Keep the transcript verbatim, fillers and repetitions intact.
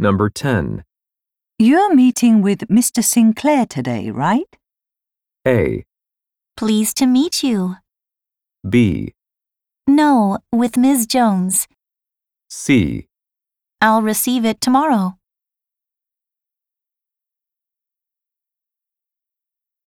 Number ten. You're meeting with Mister Sinclair today, right? A. Pleased to meet you. B. No, with Miz Jones. C. I'll receive it tomorrow.